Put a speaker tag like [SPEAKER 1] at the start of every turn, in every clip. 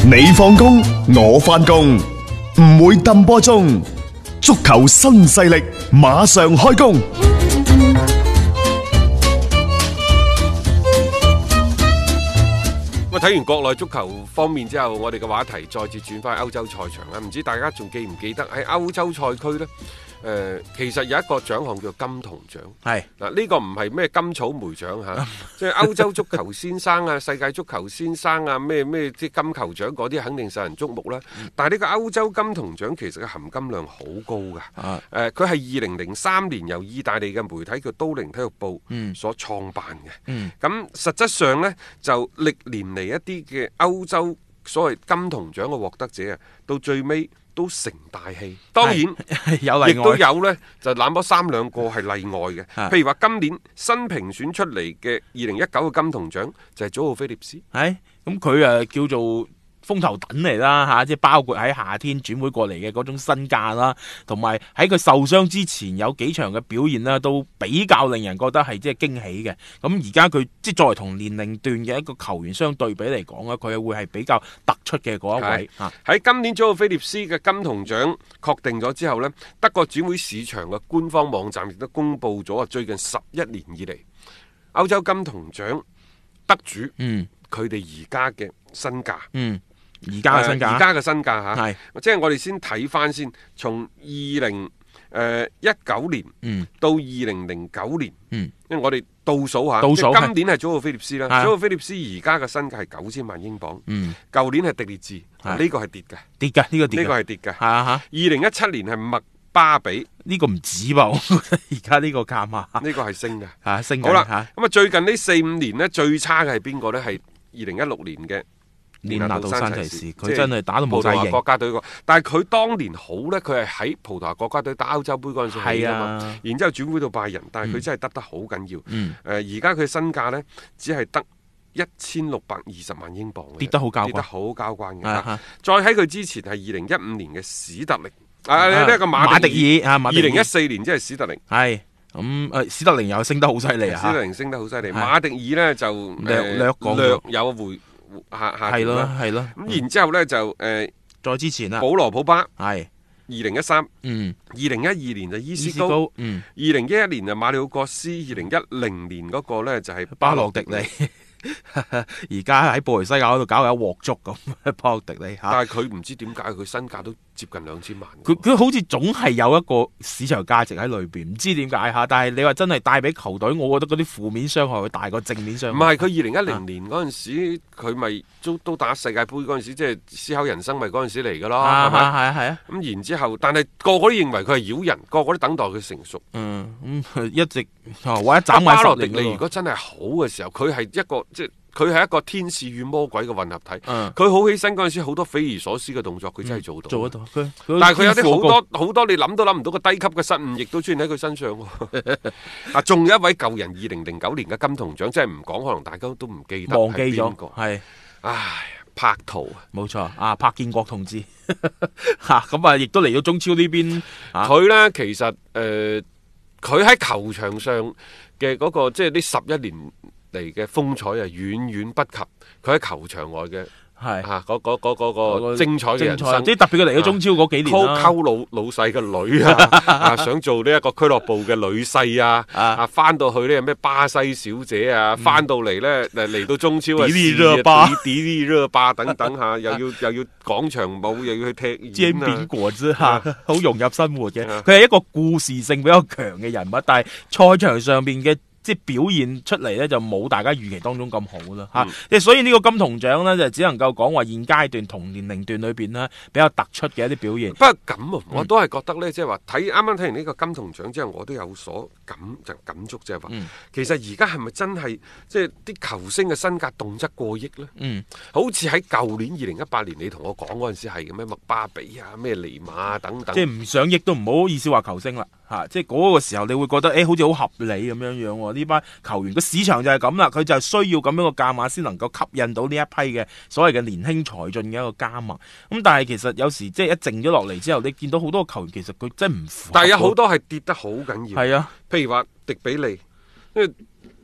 [SPEAKER 1] 你放工，我翻工，唔會抌波鐘。足球新勢力馬上開工。
[SPEAKER 2] 咁睇完國內足球方面之後，我哋嘅話題再次轉翻歐洲賽場啦。唔知大家仲記唔記得喺歐洲賽區呢？其實有一個獎項叫金童獎，係嗱，呢個唔係咩金草莓獎嚇，即係歐洲足球先生啊、世界足球先生啊、咩即金球獎嗰啲肯定受人矚目啦。但係呢個歐洲金童獎其實嘅含金量好高㗎。佢係2003年由意大利嘅媒體叫都靈體育報所創辦嘅。咁實質上呢，就歷年嚟一啲嘅歐洲所謂金童獎嘅獲得者啊，到最尾都成大器，當然有例外，亦都有呢，就那麼三兩個係例外嘅。譬如話今年新評選出嚟嘅2019嘅金童獎就係祖奧菲利斯，
[SPEAKER 3] 咁佢叫做風頭躉嚟啦嚇，即係包括喺夏天轉會過嚟嘅嗰種身價啦，同埋喺佢受傷之前有幾場嘅表現啦，都比較令人覺得係即係驚喜嘅。咁而家佢即係作為同年齡段嘅一個球員相對比嚟講咧，佢會係比較突出嘅嗰一位。
[SPEAKER 2] 喺今年祖奧菲利斯嘅金童獎確定咗之後呢，德國轉會市場嘅官方網站亦都公布咗最近11年以嚟歐洲金童獎得主，佢哋而家嘅身價。
[SPEAKER 3] 而家嘅身價
[SPEAKER 2] 嚇，即係我哋先睇翻先，從2019年到2009年，因為我哋倒數下，今年係祖奧菲利斯啦，祖奧菲利斯而家嘅身價係9000萬英鎊，舊年係迪列治，呢個係跌嘅，呢個係跌嘅，2017年係麥巴比，呢個唔止噃，而家呢個價碼，呢個係升嘅，升嘅。好啦，咁啊最近呢4-5年呢，最差嘅係邊個呢？係2016年嘅連拿度山齊士，佢真係打到冇晒型。葡萄牙國家隊但係佢當年好呢，佢係喺葡萄牙國家隊打歐洲杯嗰陣時係啊嘛，然之後轉會到拜仁，但係佢真係得好緊要。而家佢身價呢，只係得1620萬英鎊，跌得好交關嘅。再喺佢之前係2015年嘅史特靈，呢一個馬迪爾2014年即係史特靈，係咁史特靈又升得好犀利啊！史特靈升得好犀利，馬迪爾呢就略有回。係咯，咁然之後咧就再之前啦，保羅普巴係2013，2012年就伊斯高，2011年就馬里奧國斯，2010年嗰個咧就係巴洛迪利。而家喺布雷西亞嗰度搞有鑊粥咁，巴洛迪利，但係佢唔知點解佢身價都接近2000萬，佢好似總係有一個市場價值喺裏邊，唔知點解吓。但係你話真係帶俾球隊，我覺得嗰啲負面傷害會大過正面傷害。唔係佢2010年嗰陣時，佢咪都打世界盃嗰陣時，即係思考人生咪嗰陣時嚟噶咯，係咪？係啊。咁然之後，但係個個都認為佢係妖人，個個都等待佢成熟。一直或者斬埋巴洛迪利，如果真係好嘅時候，佢係一個。即係佢係一個天使與魔鬼嘅混合體，佢好起身嗰陣時，好多匪夷所思嘅動作，佢真係做得到。但係佢有啲好多你諗都諗唔到嘅低級嘅失誤，亦都出現喺佢身上。仲有一位舊人2009年嘅金童獎，即係唔講，可能大家都唔記得，忘記咗。係，柏圖，冇錯，柏建國同志。咁亦都嚟到中超呢邊。佢呢，其實佢喺球場上嘅嗰個，即係呢11年嚟嘅風采啊，遠遠不及佢喺球場外嘅嗰個精彩嘅人生。即係特別佢嚟咗中超嗰幾年啦，溝老細嘅女啊，想做呢一個俱樂部嘅女婿啊，翻到去呢咩巴西小姐啊，翻到嚟呢嚟到中超啊，迪麗熱巴等等嚇，又要廣場舞，又要去踢煎餅果子嚇，好融入生活嘅。佢係一個故事性比較強嘅人物，但係賽場上邊嘅即係表現出嚟咧，就冇大家預期當中咁好啦嚇。即係所以呢個金童獎咧，就只能夠講話現階段同年齡段裏邊咧比較突出嘅一啲表現。不過咁啊，我都係覺得咧，即係話啱啱睇完呢個金童獎之後，我都有所感觸，即係話其實而家係咪真係即係啲球星嘅身價動輒過億咧？好似喺舊年2018年你同我講嗰陣時係嘅咩麥巴比啊、咩尼馬啊等等，即係唔上億都唔好意思話球星啦嚇。即係嗰個時候你會覺得好似好合理咁樣樣喎。呢班球員個市場就係咁啦，佢就係需要咁樣個價碼先能夠吸引到呢一批嘅所謂嘅年輕才俊嘅一個加盟。咁但係其實有時即係一靜咗落嚟之後，你見到好多球員其實佢真係唔符合。但係有好多係跌得好緊要。係啊，譬如話迪比利，因為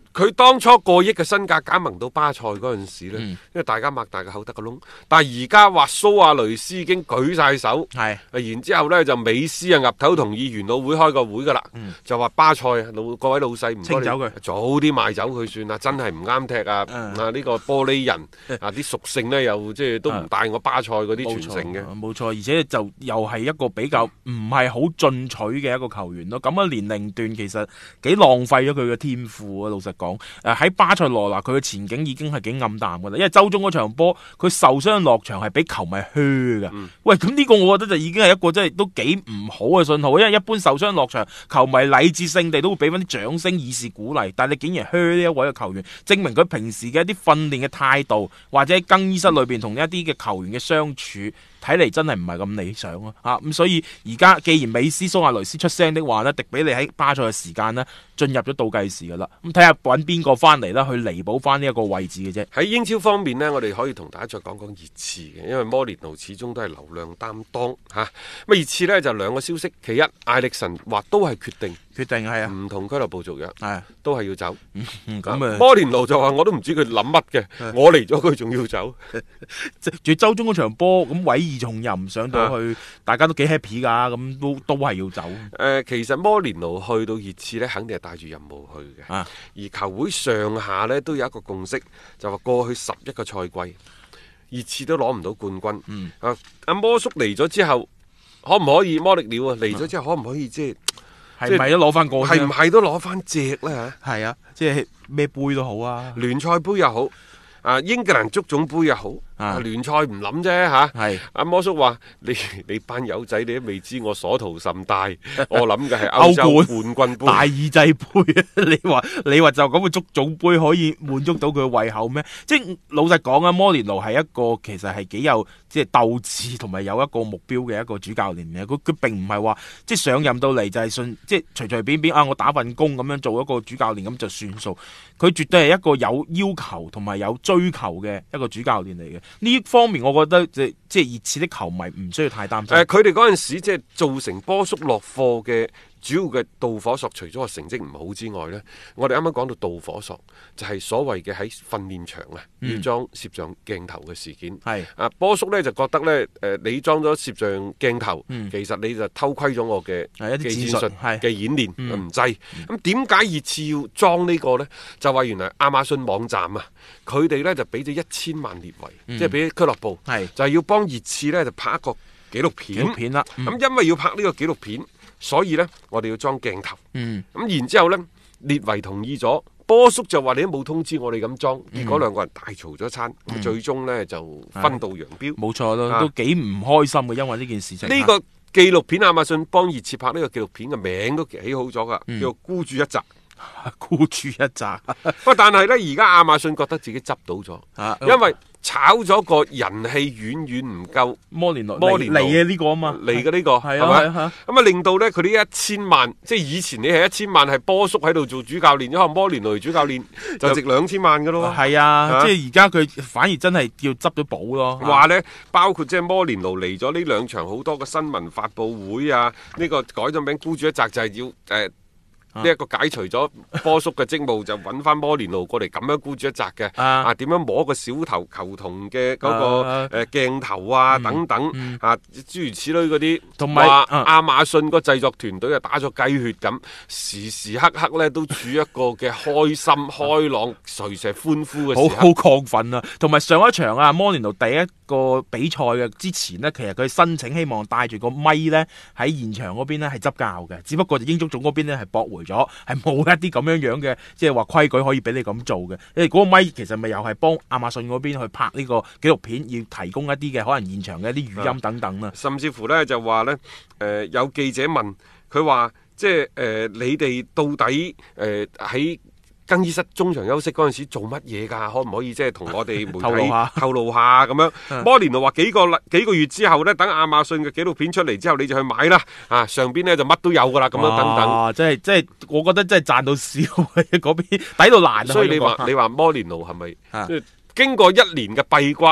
[SPEAKER 2] 佢當初過億嘅身價加盟到巴塞嗰陣時咧，因為大家擘大個口得個窿，但係而家話蘇亞雷斯已經舉晒手，然之後呢就美斯啊岌頭同意元老會開個會噶啦，就話巴塞各位老細唔該你早啲賣走佢算啦，真係唔啱踢啊！呢個玻璃人啲屬性呢又即係都唔帶我巴塞嗰啲傳承嘅，
[SPEAKER 3] 冇錯，而且就又係一個比較唔係好進取嘅一個球員咯。咁嘅年齡段其實幾浪費咗佢嘅天賦啊！老實講，喺巴塞羅那佢嘅前景已經係幾暗淡噶啦，因為周中嗰場波佢受傷落場係俾球迷噓噶。喂，咁呢個我覺得就已經係一個真係都幾唔好嘅信號，因為一般受傷落場，球迷禮節性地都會俾翻啲掌聲以示鼓勵，但係你竟然噓呢一位嘅球員，證明佢平時嘅一啲訓練嘅態度，或者喺更衣室裏邊同一啲嘅球員嘅相處，睇嚟真係唔係咁理想咯。咁所以而家既然美斯、蘇亞雷斯出聲的話呢，迪比利喺巴塞嘅時間呢進入咗倒計時噶啦。咁睇下揾邊個翻嚟啦，去彌補翻呢一個位置嘅啫。
[SPEAKER 2] 喺英超方面呢，我哋可以同大家再講講熱刺嘅，因為摩連奴始終都係流量擔當吓。咁熱刺呢就兩個消息，其一艾力神話都係決定係啊，唔同俱樂部續約，都係要走。摩連奴就話我都唔知佢諗乜嘅，我嚟咗佢仲要走。
[SPEAKER 3] 住周中嗰場波咁委以重任上到去，大家都幾 happy 噶，咁都係要走。
[SPEAKER 2] 其實摩連奴去到熱刺呢，肯定係帶住任務去嘅。而球會上下呢，都有一個共識，就話過去11個賽季，熱刺都攞唔到冠軍。阿摩叔嚟咗之後，可唔可以摩力鳥嚟咗之後，可唔可以即係
[SPEAKER 3] 咪都攞翻個？
[SPEAKER 2] 係唔係都攞翻隻呢？
[SPEAKER 3] 係啊，即係咩杯都好啊，
[SPEAKER 2] 聯賽杯又好，英格蘭足總杯又好。聯賽唔諗啫吓，阿摩叔話你班友仔你都未知我所圖甚大，我諗嘅係歐洲冠軍杯、大
[SPEAKER 3] 耳仔杯。你話就咁嘅足總杯可以滿足到佢嘅胃口咩？即係老實講啊，摩連奴係一個其實係幾有即係鬥志同埋有一個目標嘅一個主教練嘅。佢並唔係話即係上任到嚟就係信即係隨隨便便我打份工咁樣做一個主教練咁就算數。佢絕對係一個有要求同埋有追求嘅一個主教練嚟嘅。呢方面我覺得即係熱刺的球迷唔需要太擔心。
[SPEAKER 2] 佢哋嗰陣時即係造成波叔落課嘅主要嘅導火索，除咗個成績唔好之外呢，我哋啱啱講到導火索就係所謂嘅喺訓練場要裝攝像鏡頭嘅事件。波叔呢就覺得呢，你裝咗攝像鏡頭，其實你就偷窺咗我嘅技戰術嘅演練，唔制。咁點解熱刺要裝呢個呢？就話原來亞馬遜網站佢哋呢就俾咗1000萬列維，即係俾俱樂部，就係要幫熱刺呢就拍一個紀錄片啦。咁因為要拍呢個紀錄片，所以呢，我哋要裝鏡頭。咁然之後呢，列維同意咗，波叔就話你都冇通知我哋咁裝，結果兩個人大嘈咗一餐，最終呢就分道揚鑣。
[SPEAKER 3] 冇錯咯，都幾唔開心嘅，因為呢件事情。
[SPEAKER 2] 呢個紀錄片亞馬遜幫熱刺拍呢個紀錄片嘅名都起好咗噶，叫孤注一擲。
[SPEAKER 3] 孤注一擲。
[SPEAKER 2] 不過但係呢，而家亞馬遜覺得自己執到咗，因為炒咗個人氣遠遠唔夠摩連奴嚟
[SPEAKER 3] 嘅呢個啊嘛，
[SPEAKER 2] 嚟嘅呢個係咪？咁令到呢，佢呢1000萬，即係以前你係1000萬係波叔喺度做主教練，可能摩連奴主教練就值2000萬噶咯。
[SPEAKER 3] 係啊，即係而家佢反而真係叫執咗寶咯。
[SPEAKER 2] 話呢，包括即係摩連奴嚟咗呢2場好多嘅新聞發佈會啊，呢個改咗名孤注一擲就係要呢一個解除咗波叔嘅職務，就揾翻摩連奴過嚟咁樣孤注一擲嘅。點樣摸個小頭球童嘅嗰個鏡頭等等諸如此類嗰啲，同埋亞馬遜個製作團隊打咗雞血咁，時時刻刻咧都處一個嘅開心開朗隨時歡呼嘅時刻，
[SPEAKER 3] 好亢奮啊！同埋上一場摩連奴第一個比賽嘅之前呢，其實佢申請希望帶住個咪呢喺現場嗰邊呢係執教嘅，只不過英足總嗰邊呢係駁回咗，係冇一啲咁樣嘅即係話規矩可以俾你咁做嘅。因為嗰個咪其實咪又係幫亞馬遜嗰邊去拍呢個紀錄片，要提供一啲嘅可能現場嘅一啲語音等等啦。
[SPEAKER 2] 甚至乎呢就話呢，有記者問佢話，即係你哋到底喺更衣室中場休息嗰陣時做乜嘢㗎？可唔可以即係同我哋媒體透露下咁樣？摩連奴話幾個月之後呢，等亞馬遜嘅紀錄片出嚟之後，你就去買啦。上邊呢就乜都有㗎啦，咁樣等等。
[SPEAKER 3] 即係我覺得真係賺到笑嗰邊抵到爛。
[SPEAKER 2] 所以你話摩連奴係咪經過1年嘅閉關，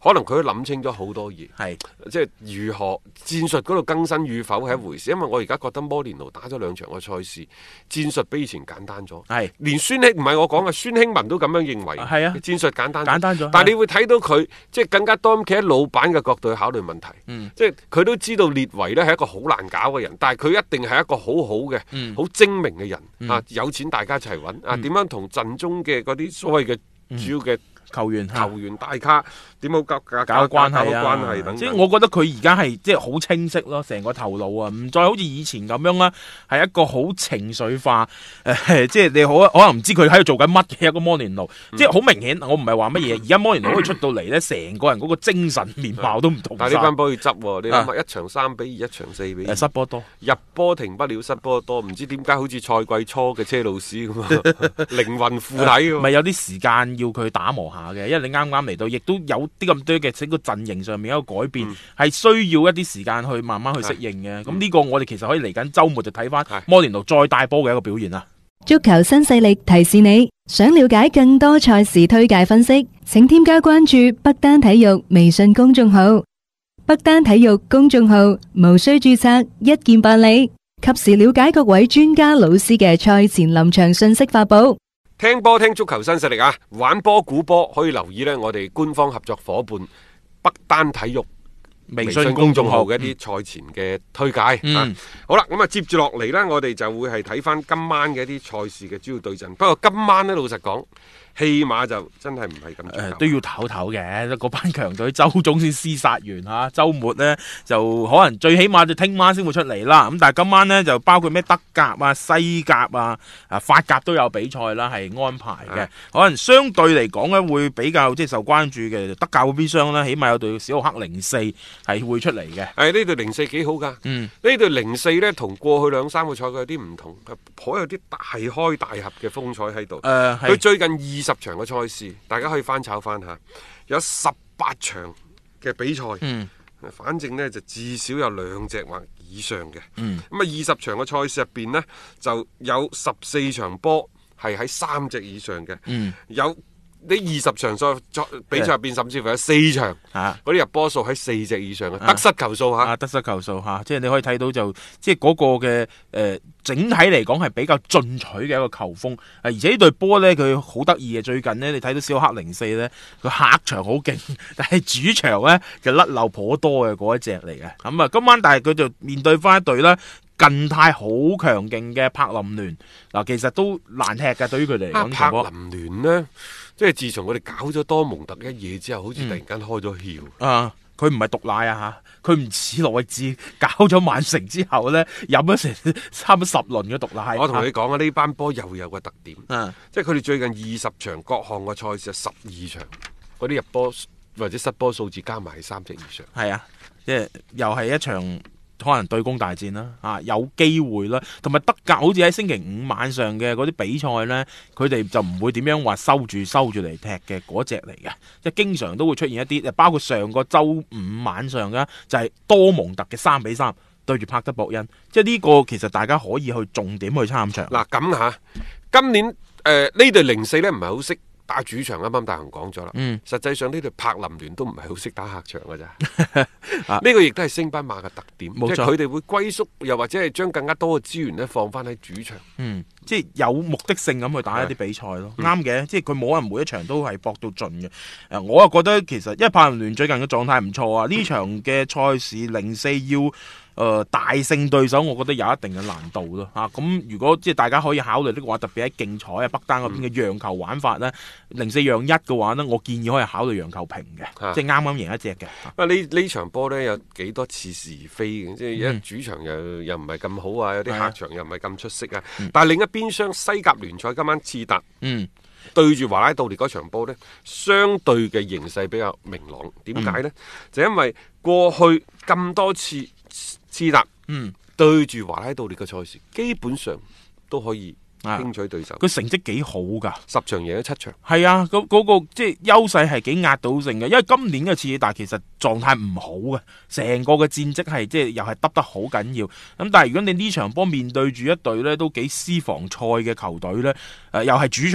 [SPEAKER 2] 可能佢都諗清咗好多嘢，
[SPEAKER 3] 係
[SPEAKER 2] 即係如何戰術嗰度更新與否係一回事。因為我而家覺得摩連奴打咗2場嘅賽事，戰術比以前簡單咗。
[SPEAKER 3] 係
[SPEAKER 2] 連孫興唔係我講嘅，孫興文都咁樣認為。
[SPEAKER 3] 係啊，
[SPEAKER 2] 戰術簡單
[SPEAKER 3] 咗。
[SPEAKER 2] 但係你會睇到佢即係更加多咁企喺老闆嘅角度去考慮問題。即係佢都知道列維呢係一個好難搞嘅人，但係佢一定係一個好好嘅、好精明嘅人。啊，有錢大家一齊揾。啊，點樣同陣中嘅嗰啲所謂嘅主要嘅球員大咖點好搞關係等等。
[SPEAKER 3] 即係我覺得佢而家係即係好清晰咯，成個頭腦啊，唔再好似以前咁樣啦，係一個好情緒化即係你可能唔知佢喺度做緊乜嘅一個摩連奴。即係好明顯，我唔係話乜嘢，而家摩連奴可以出到嚟呢，成個人嗰個精神面貌都唔同。
[SPEAKER 2] 但係呢班波要執，你諗下，一場3-2，一場4-2，
[SPEAKER 3] 失波多，
[SPEAKER 2] 入波停不了，失波多，唔知點解好似賽季初嘅車路士咁啊，靈魂附體。
[SPEAKER 3] 咪有啲時間要佢打磨下嘅，因為你啱啱嚟到，亦都有啲咁多嘅整個陣營上面一個改變，係需要一啲時間去慢慢去適應嘅。咁呢個我哋其實可以嚟緊週末就睇翻摩連奴再帶波嘅一個表現啦。
[SPEAKER 4] 足球新勢力提示你，想了解更多賽事推介分析，請添加關注北單體育微信公眾號。北單體育公眾號無需註冊，一鍵辦理，及時了解各位專家老師嘅賽前臨場信息發布。
[SPEAKER 2] 聽波聽足球新勢力啊！玩波估波可以留意呢，我哋官方合作伙伴北單體育微信公眾號嘅一啲賽前嘅推介。好啦，咁啊接住落嚟呢，我哋就會係睇翻今晚嘅一啲賽事嘅主要對陣。不過今晚呢，老實講，起碼就真係唔係咁
[SPEAKER 3] 都要唞唞嘅，嗰班強隊周中先廝殺完吓，周末呢就可能最起碼就聽晚先會出嚟啦。咁但係今晚呢，就包括咩德甲啊、西甲啊、法甲都有比賽啦，係安排嘅。可能相對嚟講呢，會比較即係受關注嘅德甲嗰邊廂呢，起碼有隊小奧克04係會出嚟嘅。
[SPEAKER 2] 呢隊04幾好噶，呢隊04呢同過去2-3個賽季有啲唔同，頗有啲大開大合嘅風采喺度。佢最近20場嘅賽事，大家可以翻炒翻下，有18場嘅比賽，反正呢就至少有2隻或以上嘅。咁啊20場嘅賽事入邊呢，就有14場波係喺3隻以上嘅，有呢20場比賽入邊，甚至乎有4場嗰啲入波數喺4隻以上嘅，得失球數吓，
[SPEAKER 3] 得失球數吓，即係你可以睇到就即係嗰個嘅整體嚟講係比較進取嘅一個球風。而且呢隊波呢，佢好得意嘅，最近呢，你睇到小奧克04呢，佢客場好勁，但係主場呢，就甩漏頗多嘅嗰一隻嚟嘅。咁啊今晚但係佢就面對翻一隊啦，近態好強勁嘅柏林聯。嗱，其實都難踢㗎，對於佢哋嚟講。
[SPEAKER 2] 柏林聯呢，即係自從我哋搞咗多蒙特一嘢之後，好似突然間開咗竅。
[SPEAKER 3] 佢唔係毒奶啊吓，佢唔似羅域治搞咗曼城之後呢，飲咗成差唔多10輪嘅毒奶。
[SPEAKER 2] 我同你講啊，呢班波又有個特點，即係佢哋最近20場各項嘅賽事12場，嗰啲入波或者失波數字加埋3隻以上。
[SPEAKER 3] 係啊，即係又係一場可能對攻大戰啦，有機會啦。同埋德甲好似喺星期5晚上嘅嗰啲比賽呢，佢哋就唔會點樣話收住嚟踢嘅嗰隻嚟嘅，即係經常都會出現一啲，包括上個周5晚上嘅就係多蒙特嘅3-3對住帕德博恩，即係呢個其實大家可以去重點去參場。
[SPEAKER 2] 嗱咁吓，今年呢隊04呢唔係好識打主場，啱啱大雄講咗啦。實際上呢隊柏林聯都唔係好識打客場㗎咋。呢個亦都係升班馬嘅特點，即係佢哋會歸宿，又或者係將更加多嘅資源呢放翻喺主場。
[SPEAKER 3] 即係有目的性咁去打一啲比賽咯。啱嘅，即係佢冇可能每一場都係搏到盡嘅。我又覺得其實因為柏林聯最近嘅狀態唔錯啊，呢場嘅賽事04要大勝對手，我覺得有一定嘅難度咯。咁如果即係大家可以考慮呢個話，特別喺競彩北單嗰邊嘅讓球玩法呢，04讓1嘅話呢，我建議可以考慮讓球平嘅，即係啱啱贏一隻嘅。
[SPEAKER 2] 呢場波呢，有幾多似是而非嘅，即係一主場又唔係咁好啊，有啲客場又唔係咁出色啊。但係另一邊廂西甲聯賽今晚次達對住華拉道列嗰場波呢，相對嘅形勢比較明朗。點解呢？就因為過去咁多次次達對住華拉道列嘅賽事，基本上都可以輕取對手。
[SPEAKER 3] 佢成績幾好噶
[SPEAKER 2] ，10場贏咗7場。
[SPEAKER 3] 係啊，嗰個即係優勢係幾壓倒性嘅。因為今年嘅次達其實狀態唔好嘅，成個嘅戰績係即係又係得好緊要。咁但係如果你呢場波面對住一隊呢都幾私房菜嘅球隊呢，又係主場。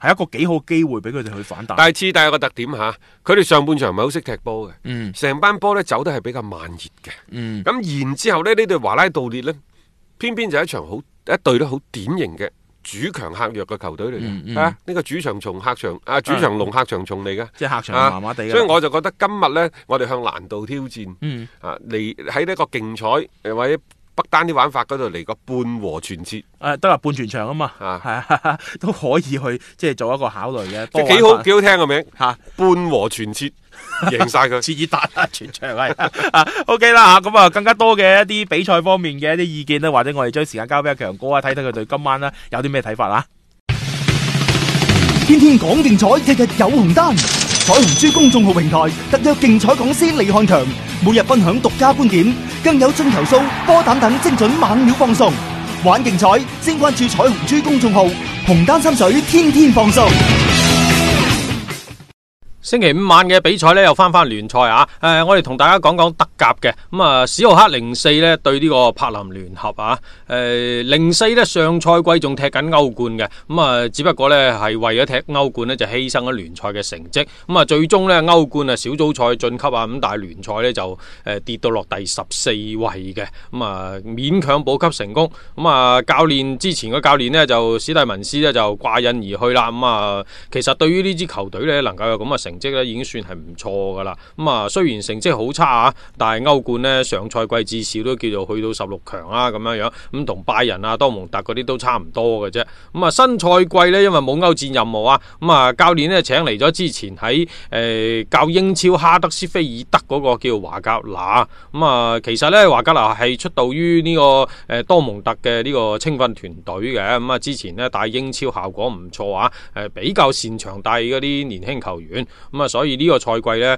[SPEAKER 3] 係一個幾好機會俾佢哋去反彈。
[SPEAKER 2] 但係次第有個特點嚇，佢哋上半場唔係好識踢波嘅，成班波呢走得係比較慢熱嘅。咁然之後呢，呢隊華拉道列呢，偏偏就係一隊都好典型嘅主強客弱嘅球隊嚟嘅。呢個主場龍客場蟲嚟嘅，
[SPEAKER 3] 即係客場麻麻地。
[SPEAKER 2] 所以我就覺得今日呢，我哋向難度挑戰，嚟喺呢個競賽或者北單啲玩法嗰度嚟個半和全切，
[SPEAKER 3] 得啦，半全場啊嘛，係都可以去即係做一個考慮嘅，
[SPEAKER 2] 即係幾好聽個名吓，半和全切贏晒佢，
[SPEAKER 3] 切爾達全場係OK 啦吓，咁啊更加多嘅一啲比賽方面嘅一啲意見咧，或者我哋將時間交俾阿強哥啊，睇睇佢對今晚咧有啲咩睇法啦。
[SPEAKER 5] 天天講競彩，日日有紅單。彩虹珠公眾號平台特約競彩講師李漢強，每日分享獨家觀點，更有進球數、波膽等精準猛料放送。玩競彩，先關注彩虹珠公眾號，紅單心水，天天放送。
[SPEAKER 6] 星期五晚嘅比賽呢，又翻聯賽啊！我哋同大家講講德甲嘅咁啊，史浩克04呢對呢個柏林聯合啊，04呢上賽季仲踢緊歐冠嘅，咁啊只不過呢係為咗踢歐冠呢就犧牲咗聯賽嘅成績，咁啊最終呢歐冠啊小組賽晉級啊，咁但係聯賽呢就跌到落第14位嘅，咁啊勉強保級成功，咁啊之前嘅教練呢就史蒂文斯呢就掛印而去啦，咁啊其實對於呢支球隊呢能夠有咁嘅成績咧已經算係唔錯噶啦，咁啊雖然成績好差啊，但係歐冠呢上賽季至少都叫做去到16強啊咁樣樣，咁同拜仁啊、多蒙特嗰啲都差唔多嘅啫。咁啊新賽季呢，因為冇歐戰任務啊，咁啊教練呢請嚟咗之前喺教英超哈德斯菲爾德嗰個叫華格納，咁啊其實呢，華格納係出道於呢個多蒙特嘅呢個青訓團隊嘅，咁啊之前呢帶英超效果唔錯啊，比較擅長帶嗰啲年輕球員。咁啊，所以呢個賽季咧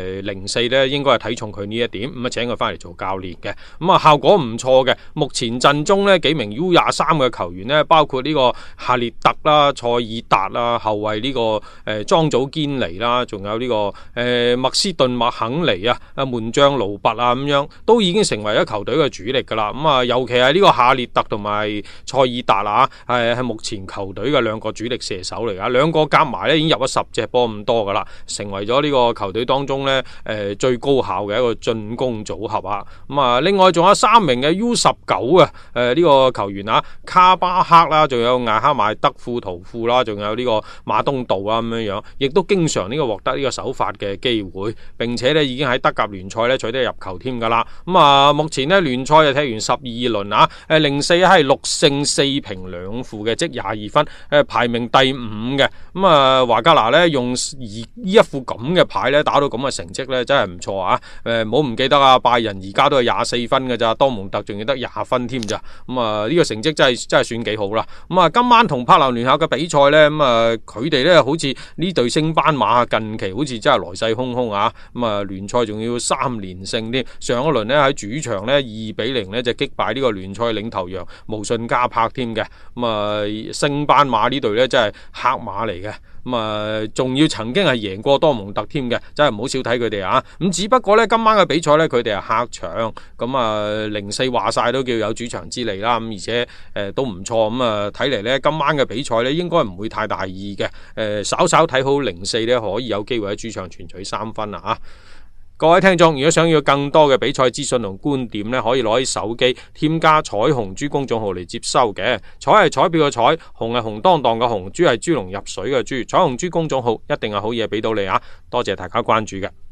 [SPEAKER 6] ，04咧應該係睇重佢呢一點，咁啊請佢翻嚟做教練嘅，咁啊效果唔錯嘅。目前陣中咧幾名 U23嘅球員咧，包括呢個夏列特啦、塞爾達啦，後衛呢個莊祖堅尼啦，仲有呢個麥斯頓麥肯尼啊，門將盧拔啊咁樣，都已經成為咗球隊嘅主力噶啦。咁啊，尤其係呢個夏列特同埋塞爾達啊，係目前球隊嘅兩個主力射手嚟噶，兩個夾埋咧已經入咗10隻波咁多噶啦。成為咗呢個球隊當中呢最高效嘅一個進攻組合啊！咁啊，另外仲有3名嘅 U19啊，呢個球員啊，卡巴克啦，仲有艾哈邁德庫圖庫啦，仲有呢個馬東道啊咁樣樣，亦都經常呢個獲得呢個首發嘅機會，並且呢已經喺德甲聯賽呢取得入球添噶啦。咁啊，目前呢聯賽就踢完12輪啊，04係6勝4平2負嘅，即22分，排名第5嘅。咁啊，華格納呢用呢一副咁嘅牌咧，打到咁嘅成績咧，真係唔錯啊！唔好唔記得啊，拜仁而家都係24分嘅咋，多蒙特仲要得20分添咋。咁啊，呢個成績真係算幾好啦。咁啊，今晚同柏林聯合嘅比賽咧，咁啊，佢哋咧好似呢隊升班馬近期好似真係來勢洶洶啊！咁啊，聯賽仲要3連勝添。上一輪咧喺主場咧2-0咧就擊敗呢個聯賽領頭羊無信加柏添嘅。咁啊，升班馬呢隊咧真係黑馬嚟嘅。咁啊，仲要曾經係贏過多蒙特添嘅，真係唔好少睇佢哋啊！咁只不過呢，今晚嘅比賽呢，佢哋係客場，咁啊04話晒都叫有主場之利啦，咁而且都唔錯，咁啊睇嚟呢，今晚嘅比賽呢，應該唔會太大意嘅，稍稍睇好04呢，可以有機會喺主場全取3分啊！各位聽眾，如果想要更多嘅比賽資訊同觀點呢，可以攞起手機添加彩虹豬公眾號嚟接收嘅。彩係彩票嘅彩，紅係紅當當嘅紅，豬係豬籠入水嘅豬。彩虹豬公眾號一定係好嘢俾到你啊！多謝大家關注嘅。